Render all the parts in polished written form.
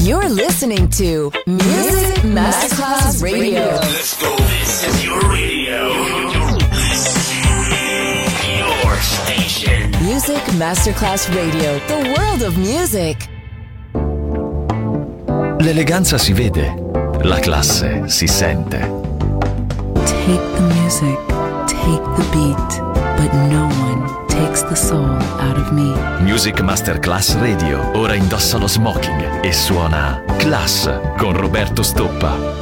You're listening to Music Masterclass Radio. Let's go. This is your radio. Your station. Music Masterclass Radio. The world of music. L'eleganza si vede, la classe si sente. Take the music, take the beat, but no one takes the soul out of me. Music Masterclass Radio ora indossa lo smoking e suona Class con Roberto Stoppa.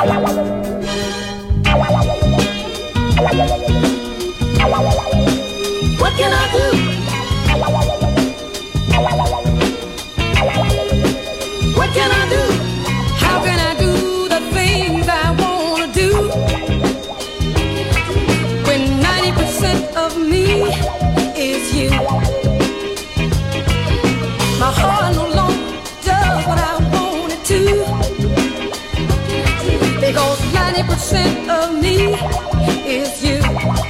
What can I do? What can I do? How can I do the things I wanna do when 90% of me is you? My heart no longer does what I want it to, because 90% of me is you.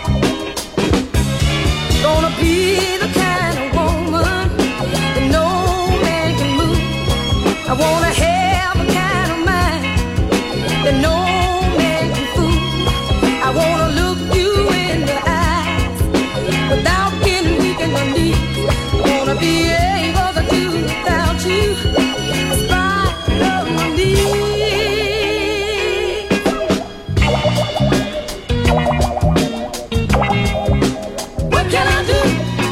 Gonna be the kind of woman that no man can move. I wanna have a kind of mind that no man can fool. I wanna look you in the eyes without getting weak in the knees. I wanna be able to do without you in spite of my needs. What can I do?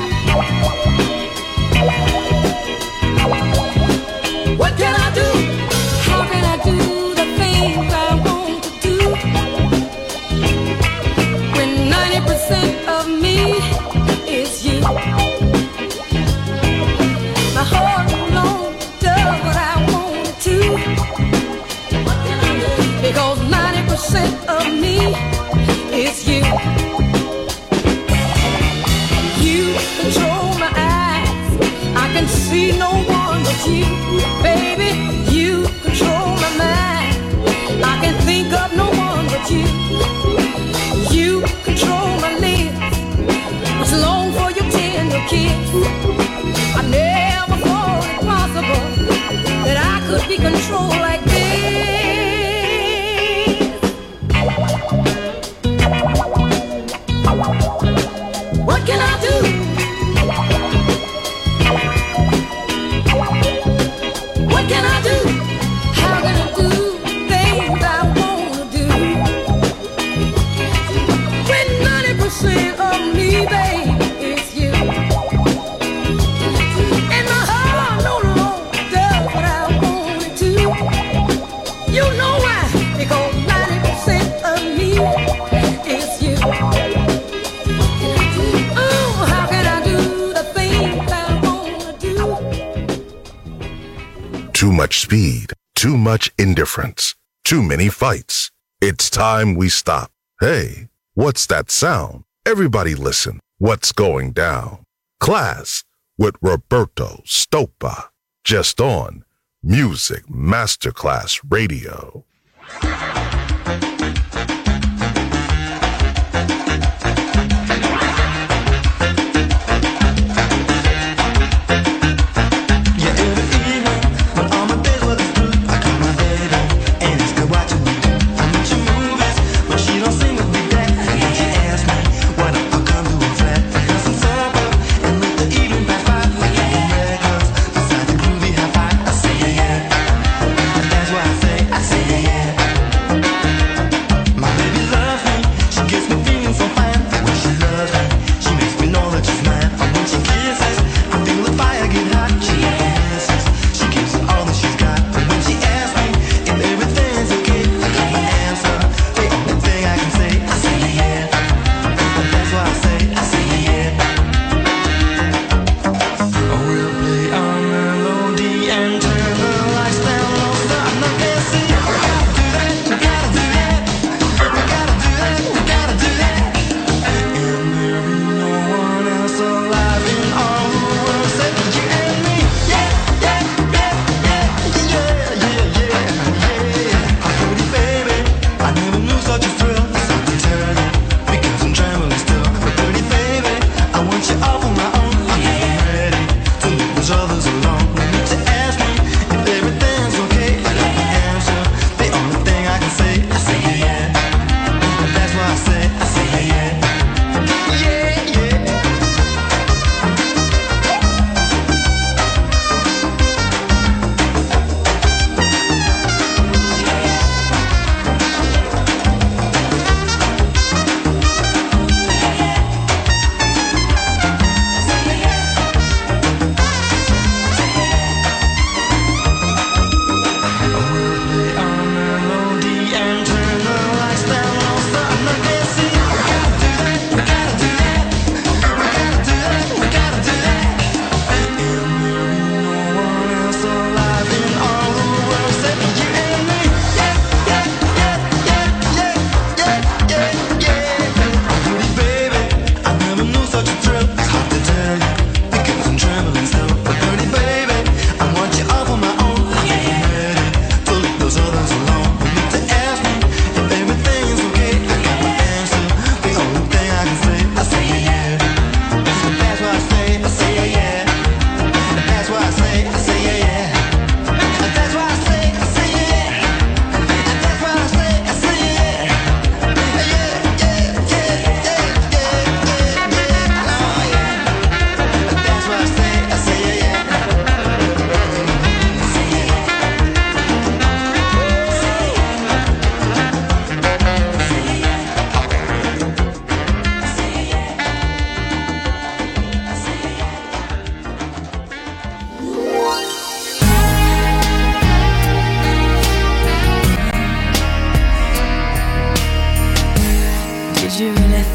What can I do? How can I do the things I want to do when 90% of me is you? My heart no longer does what I want it to, because 90% of me is you. You control my eyes, I can see no one but you. Baby, you control my mind, I can think of no one but you. You control my lips, which long for your tender kiss. I never thought it possible that I could be controlled like this. What can I do? What can I do? How can I do things I wanna do when 90% of me, babe, is you? And my heart no longer does what I want it to. You know why? Because 90% of me is you. Oh, how can I do the things I wanna do? Too much speed, too much indifference, too many fights. It's time we stop. Hey, what's that sound? Everybody listen. What's going down? Class with Roberto Stoppa. Just on Music Masterclass Radio. I say yeah.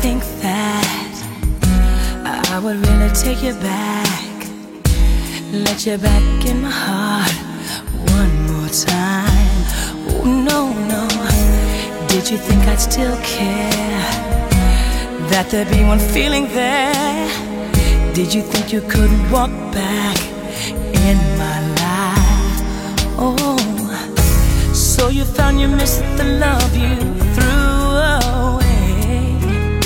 think that I would really take you back, let you back in my heart one more time? Oh, no, no. Did you think I'd still care, that there'd be one feeling there? Did you think you could walk back in my life? Oh, so you found you missed the love you threw away,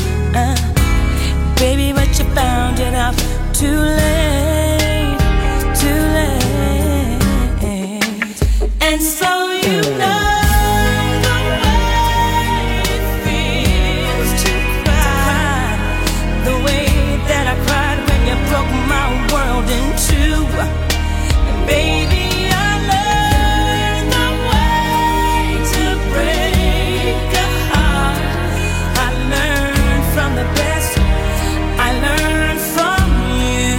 baby, but you found it out too late, too late. And so you know the way it feels to cry, the way that I cried when you broke my world in two. And baby, I learned the way to break a heart. I learned from the best, I learned from you.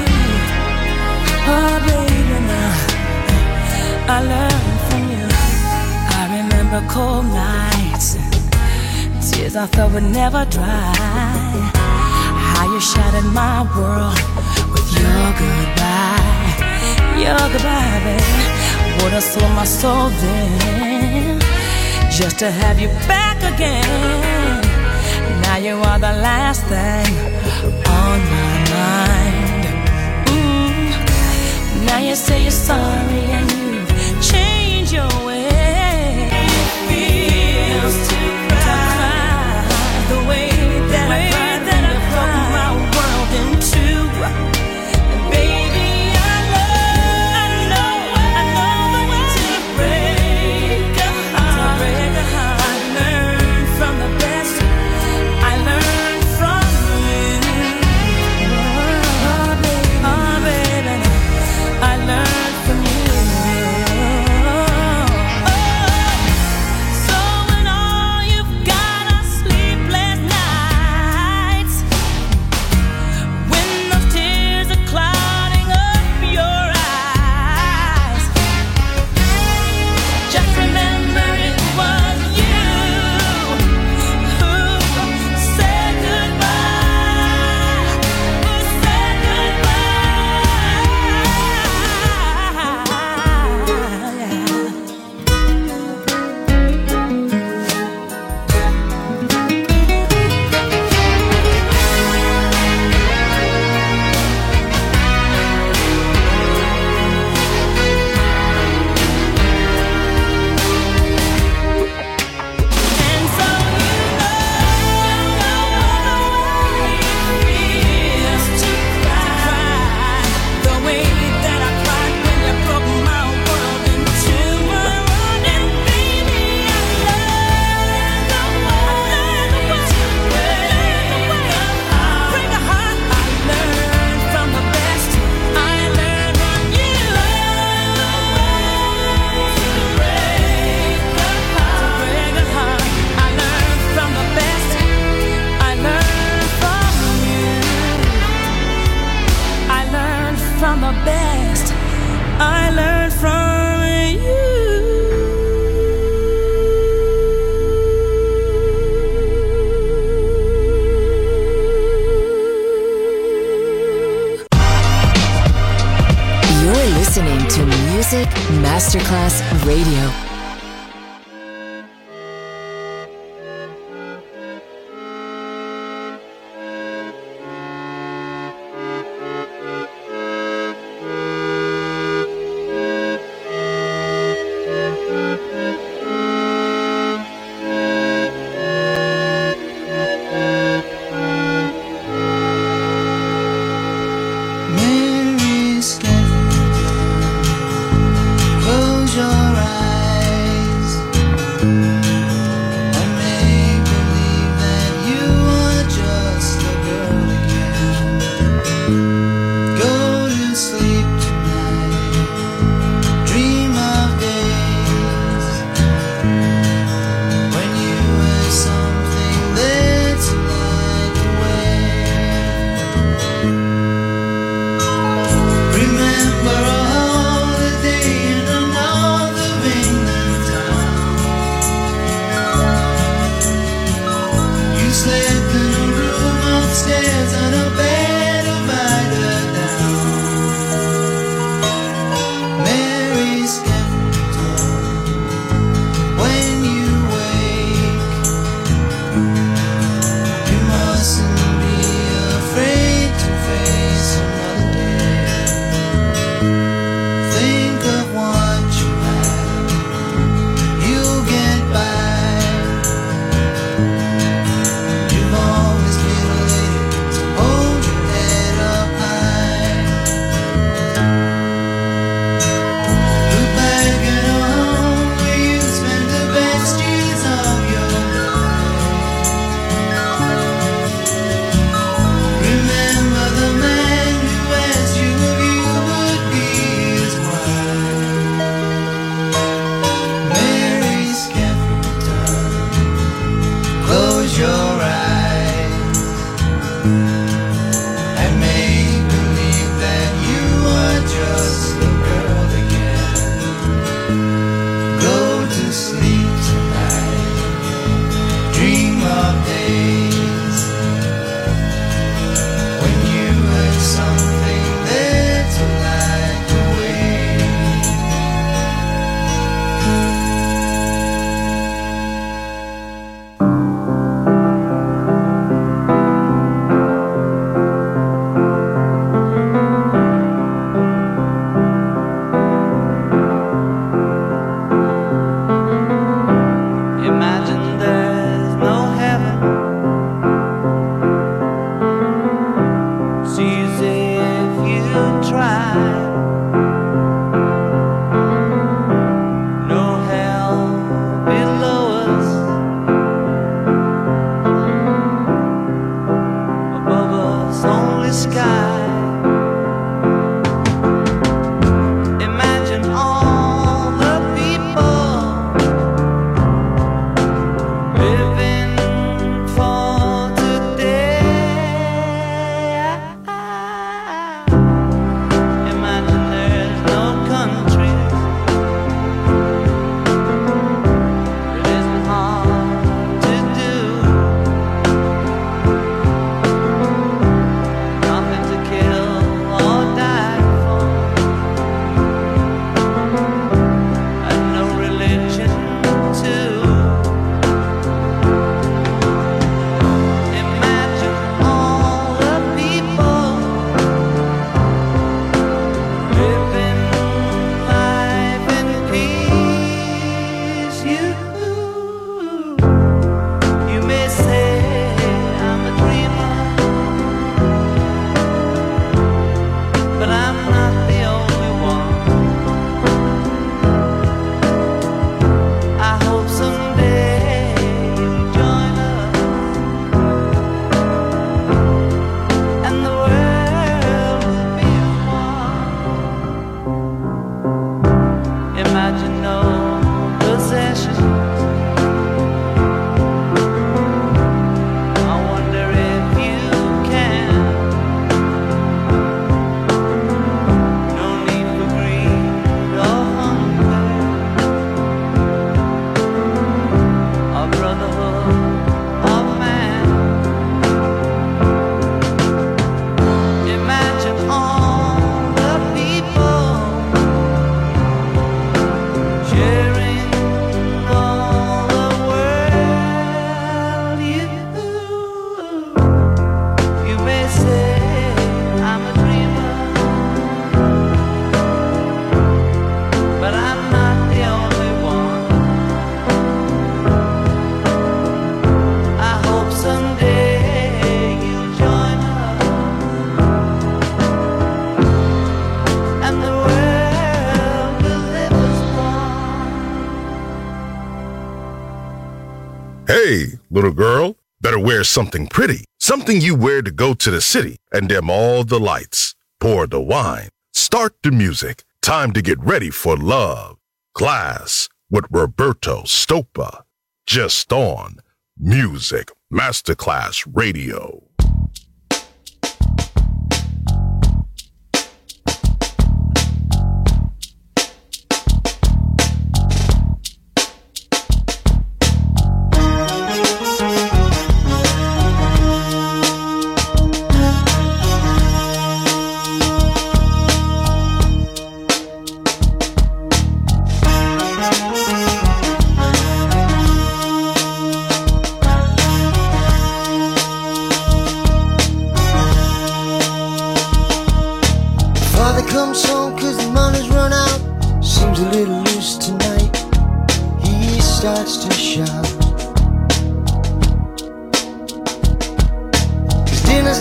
Oh baby, now I learned from you. I remember cold nights, tears I thought would never dry. How you shattered my world with your goodbye, baby. Would have sold my soul then, just to have you back again. Now you are the last thing on my mind. Now you say you're sorry and you've changed your way. It feels to cry, the way that I cried when you broke my world in two. And baby, I know the way to break a heart. I learned from the best, I learned from you. Oh baby, I learned from you. So when all you've got are sleepless nights, when those tears are clouding up your eyes, just remember it was you who said goodbye, who said And so you know the way it feels to cry, the way that I cried when you broke my world in two. And baby, I learned the way to break a heart. I learned from the best, I learned from you. To break a heart, I learned from the best, I learned from you. I learned from the best, I learned from you. You're listening to Music Masterclass Radio. Mary Stephen, close your eyes. Hey, little girl, better wear something pretty. Something you wear to go to the city and dim all the lights. Pour the wine. Start the music. Time to get ready for love. Class with Roberto Stoppa. Just on Music Masterclass Radio.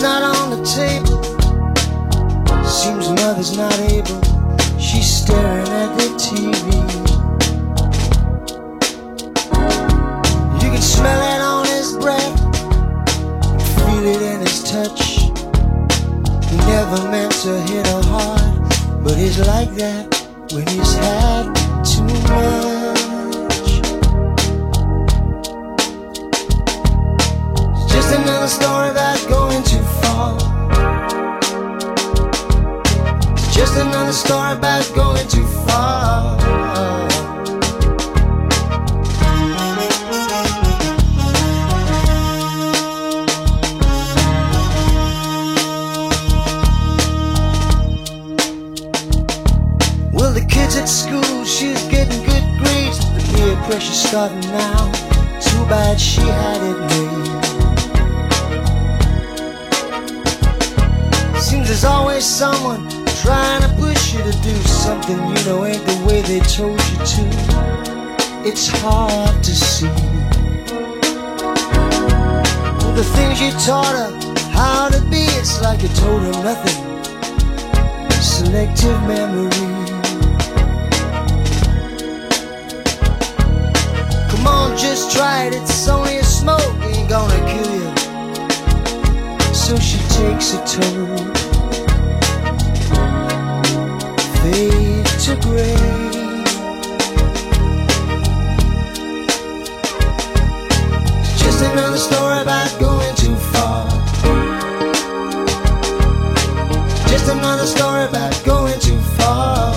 not on the table. Seems mother's not able. She's staring at the TV. You can smell it on his breath, feel it in his touch. He never meant to hit her hard, but he's like that when he's had too much. It's just another story about going too far. It's just another story about going too far. Well, the kids at school, she's getting good grades. The peer pressure's starting now. Too bad she had it made. Seems there's always someone trying to push you to do something you know ain't the way they told you to. It's hard to see. Well, the things you taught her how to be, it's like you told her nothing. Selective memory. Come on, just try it, it's only a smoke, ain't gonna kill you. So she takes a toll, fade to gray. It's just another story about going too far. Just another story about going too far.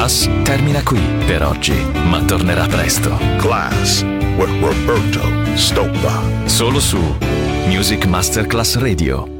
Class termina qui per oggi, ma tornerà presto. Class with Roberto Stoppa. Solo su Music Masterclass Radio.